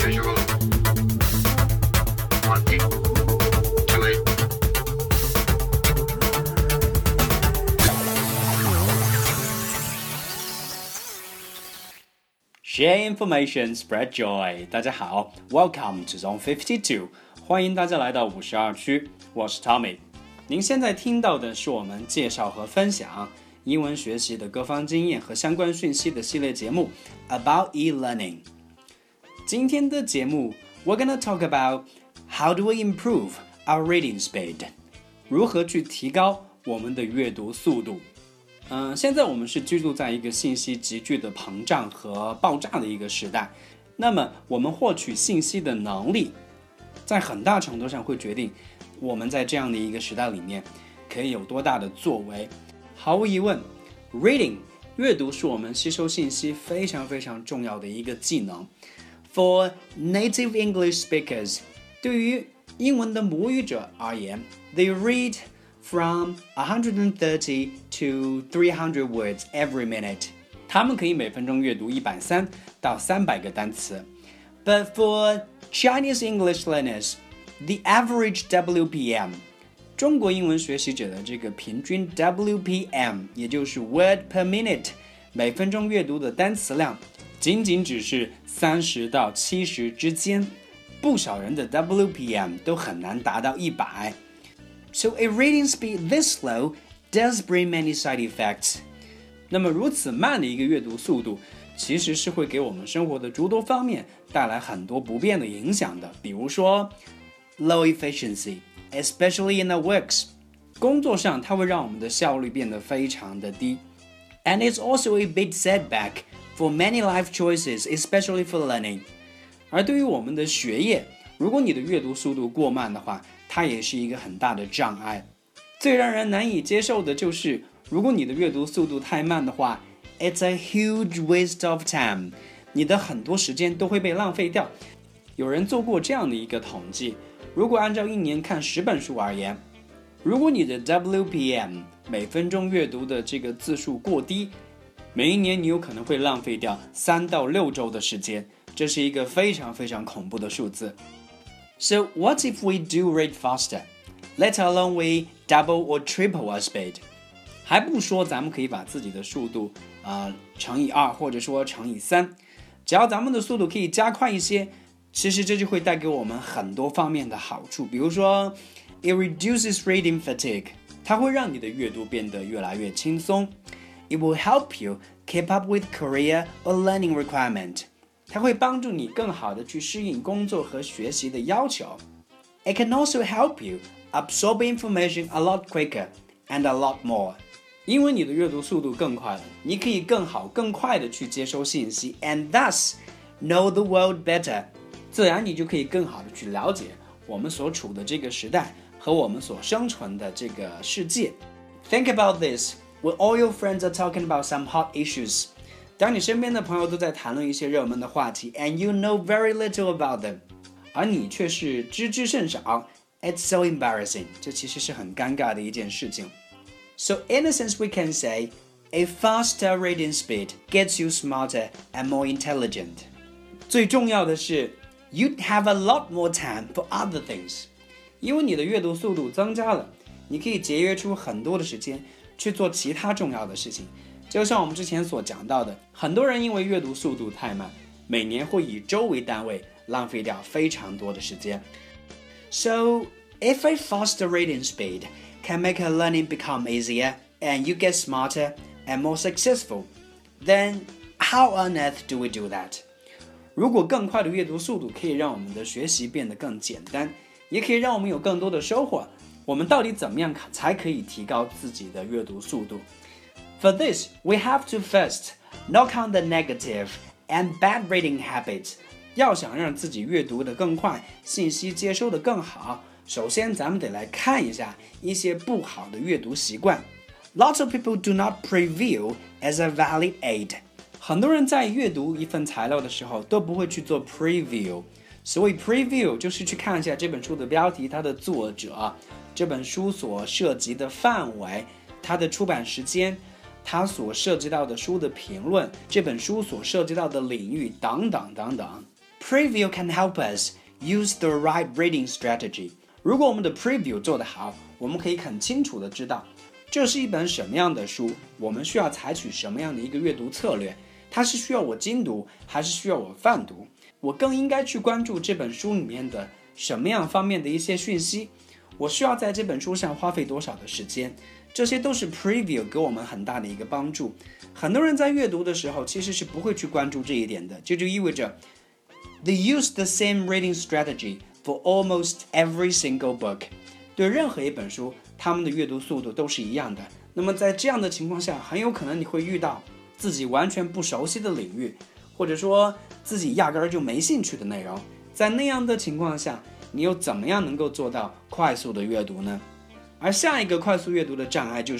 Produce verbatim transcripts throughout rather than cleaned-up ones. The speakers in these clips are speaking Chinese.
usual. One, two, eight. Share information, spread joy. 大家好 ，Welcome to Zone fifty-two. 欢迎大家来到五十二区，我是 Tommy。您现在听到的是我们介绍和分享英文学习的各方经验和相关讯息的系列节目 About e-learning。今天的节目 We're gonna talk about how do we improve our reading speed， 如何去提高我们的阅读速度。嗯、呃，现在我们是居住在一个信息急剧的膨胀和爆炸的一个时代，那么我们获取信息的能力，在很大程度上会决定我们在这样的一个时代里面可以有多大的作为。毫无疑问 ，reading 阅读是我们吸收信息非常非常重要的一个技能。For native English speakers， 对于英文的母语者而言 ，they read from one hundred thirty to three hundred words every minute。他们可以每分钟阅读一百三到三百个单词。But for Chinese English learners, the average W P M， 中国英文学习者的这个平均 W P M， 也就是 word per minute， 每分钟阅读的单词量仅仅只是三十到七十之间，不少人的 W P M 都很难达到一百。So a reading speed this slow does bring many side effects。 那么如此慢的一个阅读速度，其实是会给我们生活的诸多方面带来很多不便的影响的。比如说 low efficiency, especially in our works， 工作上它会让我们的效率变得非常的低。And it's also a big setback for many life choices, especially for learning。 而对于我们的学业，如果你的阅读速度过慢的话，它也是一个很大的障碍。最让人难以接受的就是，如果你的阅读速度太慢的话 ，it's a huge waste of time， 你的很多时间都会被浪费掉。有人做过这样的一个统计，如果按照一年看十本书而言，如果你的 W P M 每分钟阅读的这个字数过低，每一年你有可能会浪费掉三到六周的时间，这是一个非常非常恐怖的数字。So what if we do read faster, let alone we double or triple our speed？ 还不说咱们可以把自己的速度、呃、乘以二，或者说乘以三，只要咱们的速度可以加快一些，其实这就会带给我们很多方面的好处。比如说 it reduces reading fatigue， 它会让你的阅读变得越来越轻松。It will help you keep up with career or learning requirement， 它会帮助你更好的去适应工作和学习的要求。It can also help you absorb information a lot quicker and a lot more。 因为你的阅读速度更快了，你可以更好更快的去接收信息 and thus know the world better， 自然你就可以更好的去了解我们所处的这个时代和我们所生存的这个世界。 Think about this，When all your friends are talking about some hot issues， 当你身边的朋友都在谈论一些热门的话题 and you know very little about them， 而你却是知之甚少 It's so embarrassing， 这其实是很尴尬的一件事情。 So in a sense we can say a faster reading speed gets you smarter and more intelligent。 最重要的是 you'd have a lot more time for other things， 因为你的阅读速度增加了，你可以节约出很多的时间去做其他重要的事情。就像我们之前所讲到的，很多人因为阅读速度太慢，每年会以周为单位浪费掉非常多的时间。 So if a faster reading speed can make your learning become easier and you get smarter and more successful, then how on earth do we do that？ 如果更快的阅读速度可以让我们的学习变得更简单，也可以让我们有更多的收获，我们到底怎么样才可以提高自己的阅读速度？ For this, we have to first knock on the negative and bad reading habits。 要想让自己阅读得更快，信息接收得更好，首先咱们得来看一下一些不好的阅读习惯。 Lots of people do not preview as a valid aid。 很多人在阅读一份材料的时候都不会去做 preview。 所谓 preview 就是去看一下这本书的标题，它的作者，这本书所涉及的范围，它的出版时间，它所涉及到的书的评论，这本书所涉及到的领域等等等等。 preview can help us use the right reading strategy. 如果我们的 preview 做得好，我们可以很清楚地知道这是一本什么样的书，我们需要采取什么样的一个阅读策略，它是需要我精读还是需要我泛读，我更应该去关注这本书里面的什么样方面的一些讯息，我需要在这本书上花费多少的时间，这些都是 preview 给我们很大的一个帮助。很多人在阅读的时候其实是不会去关注这一点的，这就意味着 they use the same reading strategy for almost every single book. 对任何一本书，他们的阅读速度都是一样的。那么在这样的情况下，很有可能你会遇到自己完全不熟悉的领域，或者说自己压根儿就没兴趣的内容。在那样的情况下，你又怎么样能够做到快速的阅读呢？而下一个快速阅读的障碍就是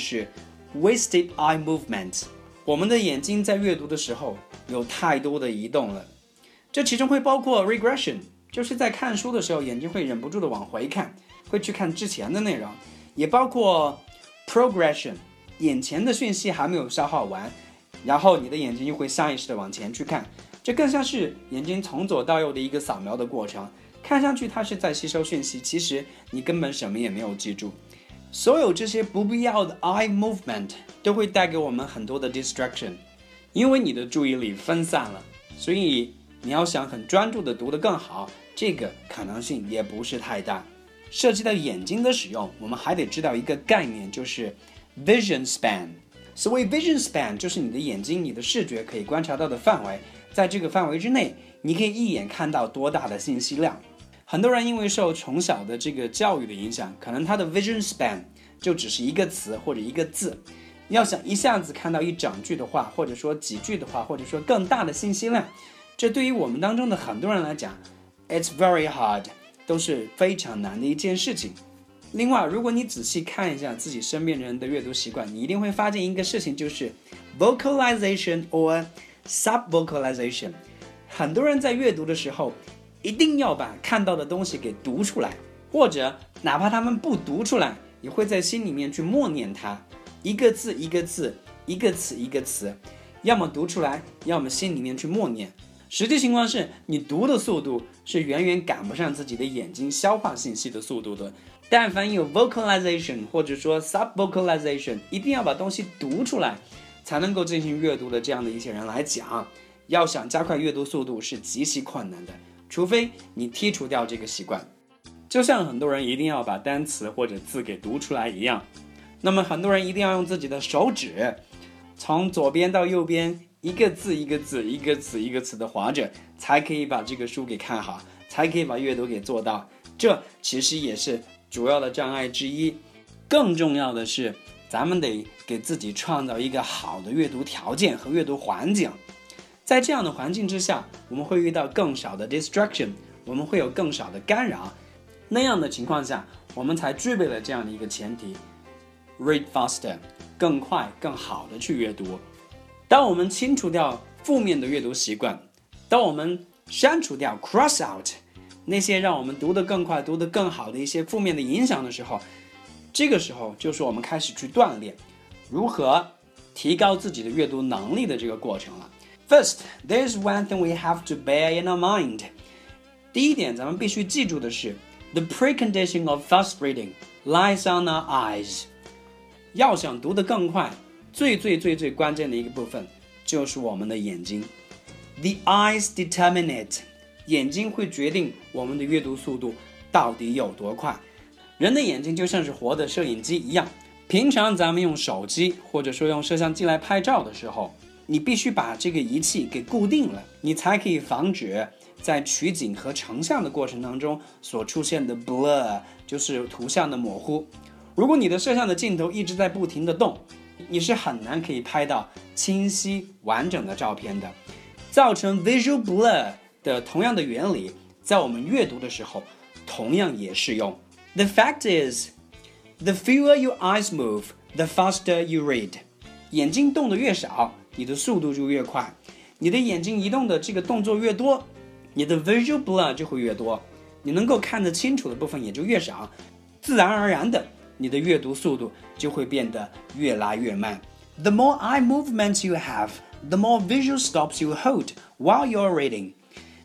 wasted eye movement。 我们的眼睛在阅读的时候有太多的移动了，这其中会包括 regression， 就是在看书的时候眼睛会忍不住的往回看，会去看之前的内容，也包括 progression， 眼前的讯息还没有消化完，然后你的眼睛又会下意识的往前去看，这更像是眼睛从左到右的一个扫描的过程，看上去它是在吸收讯息，其实你根本什么也没有记住。所有这些不必要的 eye movement 都会带给我们很多的 distraction， 因为你的注意力分散了，所以你要想很专注的读得更好，这个可能性也不是太大。涉及到眼睛的使用，我们还得知道一个概念，就是 vision span。 所谓 vision span 就是你的眼睛，你的视觉可以观察到的范围，在这个范围之内，你可以一眼看到多大的信息量。很多人因为受从小的这个教育的影响，可能他的 vision span 就只是一个词或者一个字，要想一下子看到一整句的话，或者说几句的话，或者说更大的信息量，这对于我们当中的很多人来讲 it's very hard， 都是非常难的一件事情。另外，如果你仔细看一下自己身边人的阅读习惯，你一定会发现一个事情，就是 vocalization or subvocalization。 很多人在阅读的时候一定要把看到的东西给读出来，或者哪怕他们不读出来，也会在心里面去默念它，一个字一个字，一个词一个词，要么读出来，要么心里面去默念。实际情况是你读的速度是远远赶不上自己的眼睛消化信息的速度的。但凡有 vocalization 或者说 subvocalization， 一定要把东西读出来才能够进行阅读的这样的一些人来讲，要想加快阅读速度是极其困难的，除非你剔除掉这个习惯。就像很多人一定要把单词或者字给读出来一样，那么很多人一定要用自己的手指从左边到右边一个字一个字，一个词一个词的划着，才可以把这个书给看好，才可以把阅读给做到。这其实也是主要的障碍之一。更重要的是，咱们得给自己创造一个好的阅读条件和阅读环境。在这样的环境之下，我们会遇到更少的 distraction， 我们会有更少的干扰。那样的情况下，我们才具备了这样的一个前提 read faster， 更快更好的去阅读。当我们清除掉负面的阅读习惯，当我们删除掉 cross out 那些让我们读得更快读得更好的一些负面的影响的时候，这个时候就是我们开始去锻炼如何提高自己的阅读能力的这个过程了。 First, there's one thing we have to bear in our mind。 第一点咱们必须记住的是 The precondition of fast reading lies on our eyes。 要想读得更快，最最最最关键的一个部分就是我们的眼睛。 The eyes determine it。 眼睛会决定我们的阅读速度到底有多快。人的眼睛就像是活的摄影机一样，平常咱们用手机或者说用摄像机来拍照的时候，你必须把这个仪器给固定了，你才可以防止在取景和成像的过程当中所出现的 blur， 就是图像的模糊。如果你的摄像的镜头一直在不停的动，你是很难可以拍到清晰完整的照片的。造成 visual blur 的同样的原理，在我们阅读的时候同样也适用。 The fact is, the fewer your eyes move, the faster you read。 眼睛动得越少，你的速度就越快。你的眼睛移动的这个动作越多，你的 visual blur 就会越多，你能够看得清楚的部分也就越少，自然而然的你的阅读速度就会变得越来越慢。 The more eye movements you have, the more visual stops you hold while you're reading。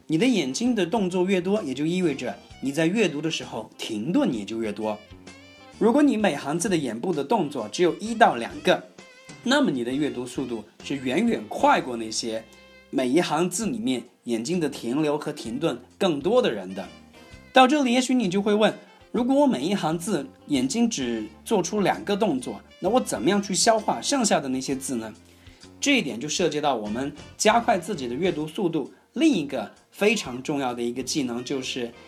你的眼睛的动作越多，也就意味着你在阅读的时候停顿也就越多。如果你每行字的眼部的动作只有一到两个，那么你的阅读速度是远远快过那些每一行字里面眼睛的停留和停顿更多的人的。到这里，也许你就会问，如果我每一行字眼睛只做出两个动作，那我怎么样去消化剩下的那些字呢？这一点就涉及到我们加快自己的阅读速度另一个非常重要的一个技能，就是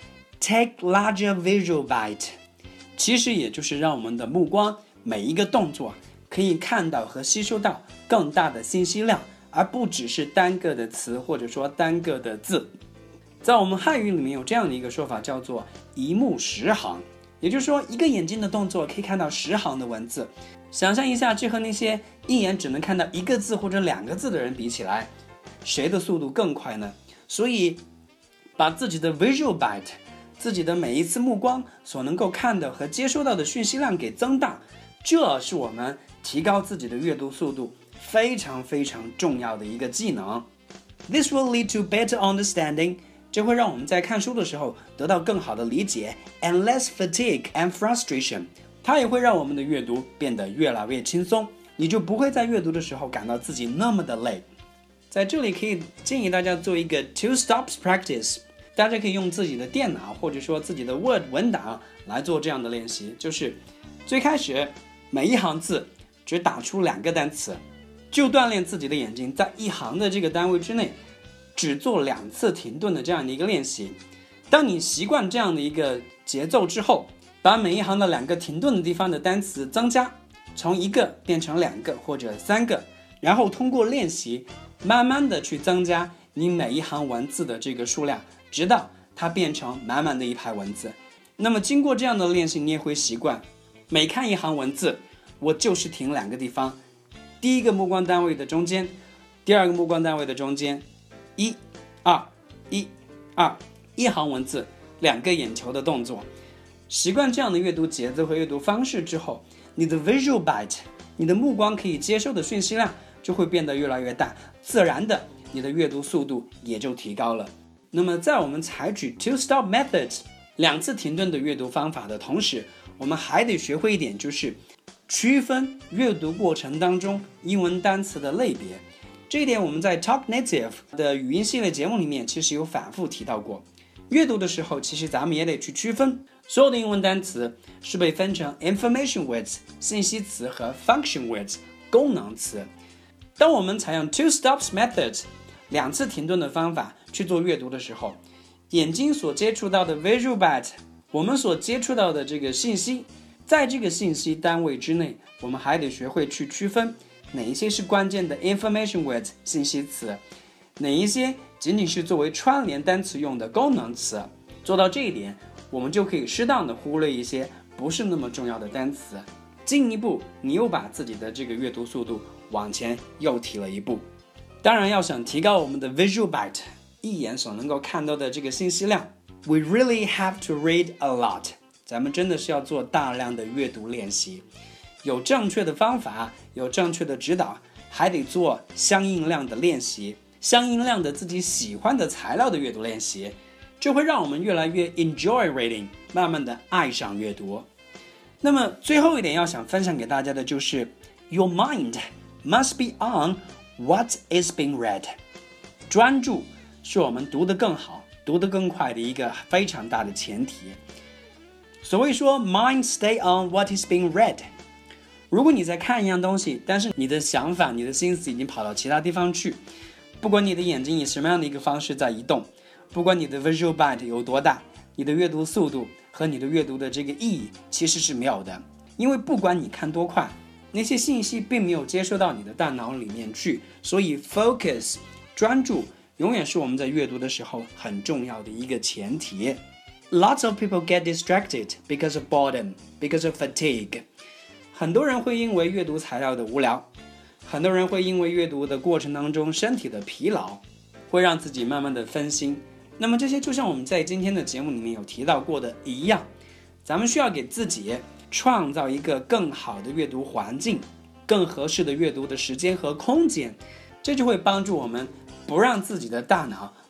take larger visual bite， 其实也就是让我们的目光每一个动作可以看到和吸收到更大的信息量，而不只是单个的词或者说单个的字。在我们汉语里面有这样的一个说法，叫做一目十行，也就是说一个眼睛的动作可以看到十行的文字。想象一下，这和那些一眼只能看到一个字或者两个字的人比起来，谁的速度更快呢？所以把自己的 visual bite， 自己的每一次目光所能够看到和接收到的讯息量给增大，这是我们提高自己的阅读速度非常非常重要的一个技能。 This will lead to better understanding， 这会让我们在看书的时候得到更好的理解 and less fatigue and frustration， 它也会让我们的阅读变得越来越轻松，你就不会在阅读的时候感到自己那么的累。在这里可以建议大家做一个 two stops practice， 大家可以用自己的电脑或者说自己的 Word 文档来做这样的练习，就是最开始每一行字只打出两个单词，就锻炼自己的眼睛在一行的这个单位之内只做两次停顿的这样的一个练习。当你习惯这样的一个节奏之后，把每一行的两个停顿的地方的单词增加，从一个变成两个或者三个，然后通过练习慢慢的去增加你每一行文字的这个数量，直到它变成满满的一排文字。那么经过这样的练习，你也会习惯每看一行文字我就是停两个地方，第一个目光单位的中间，第二个目光单位的中间，一二一二，一行文字两个眼球的动作。习惯这样的阅读节奏和阅读方式之后，你的 visual bite， 你的目光可以接受的讯息量就会变得越来越大，自然的你的阅读速度也就提高了。那么在我们采取 two stop methods 两次停顿的阅读方法的同时，我们还得学会一点，就是区分阅读过程当中英文单词的类别。这一点我们在 Talk Native 的语音系列节目里面其实有反复提到过。阅读的时候其实咱们也得去区分，所有的英文单词是被分成 information words 信息词和 function words 功能词。当我们采用 two stops methods 两次停顿的方法去做阅读的时候，眼睛所接触到的 visual bite， 我们所接触到的这个信息，在这个信息单位之内，我们还得学会去区分哪一些是关键的 information words 信息词，哪一些仅仅是作为串联单词用的功能词。做到这一点，我们就可以适当的忽略一些不是那么重要的单词，进一步你又把自己的这个阅读速度往前又提了一步。当然要想提高我们的 visual bite， 一眼所能够看到的这个信息量， we really have to read a lot， 咱们真的是要做大量的阅读练习，有正确的方法，有正确的指导，还得做相应量的练习，相应量的自己喜欢的材料的阅读练习，这会让我们越来越 enjoy reading， 慢慢的爱上阅读。那么最后一点要想分享给大家的就是 Your mind must be on what is being read， 专注是我们读得更好读得更快的一个非常大的前提。所谓说 mind stay on what is being read， 如果你在看一样东西，但是你的想法你的心思已经跑到其他地方去，不管你的眼睛以什么样的一个方式在移动，不管你的 visual bite 有多大，你的阅读速度和你的阅读的这个意义其实是没有的。因为不管你看多快，那些信息并没有接收到你的大脑里面去，所以 focus 专注永远是我们在阅读的时候很重要的一个前提。 Lots of people get distracted because of boredom, because of fatigue。 很多人会因为阅读材料的无聊，很多人会因为阅读的过程当中身体的疲劳，会让自己慢慢的分心。那么这些就像我们在今天的节目里面有提到过的一样，咱们需要给自己创造一个更好的阅读环境，更合适的阅读的时间和空间，这就会帮助我们不让自己的大脑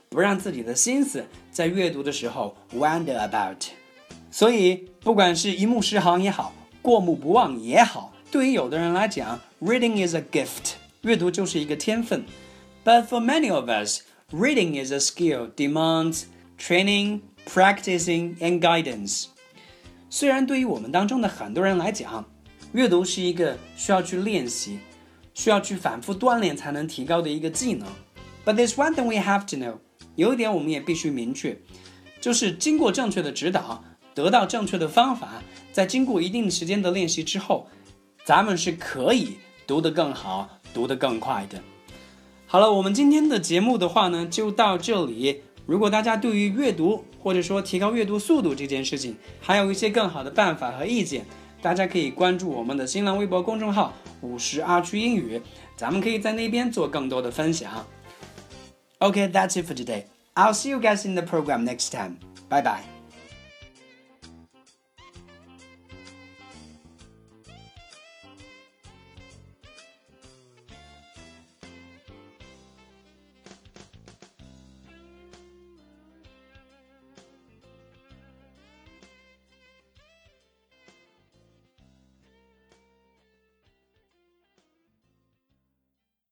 不让自己的心思在阅读的时候 wander about。 所以不管是一目十行也好，过目不忘也好，对于有的人来讲 reading is a gift， 阅读就是一个天分。 But for many of us, reading is a skill, demands training, practicing and guidance。 虽然对于我们当中的很多人来讲，阅读是一个需要去练习，需要去反复锻炼才能提高的一个技能。 But there's one thing we have to know， 有一点我们也必须明确，就是经过正确的指导，得到正确的方法，在经过一定时间的练习之后，咱们是可以读得更好，读得更快的。好了，我们今天的节目的话呢，就到这里。如果大家对于阅读或者说提高阅读速度这件事情还有一些更好的办法和意见，大家可以关注我们的新浪微博公众号五十二区英语，咱们可以在那边做更多的分享。 Okay, that's it for today. I'll see you guys in the program next time. Bye bye.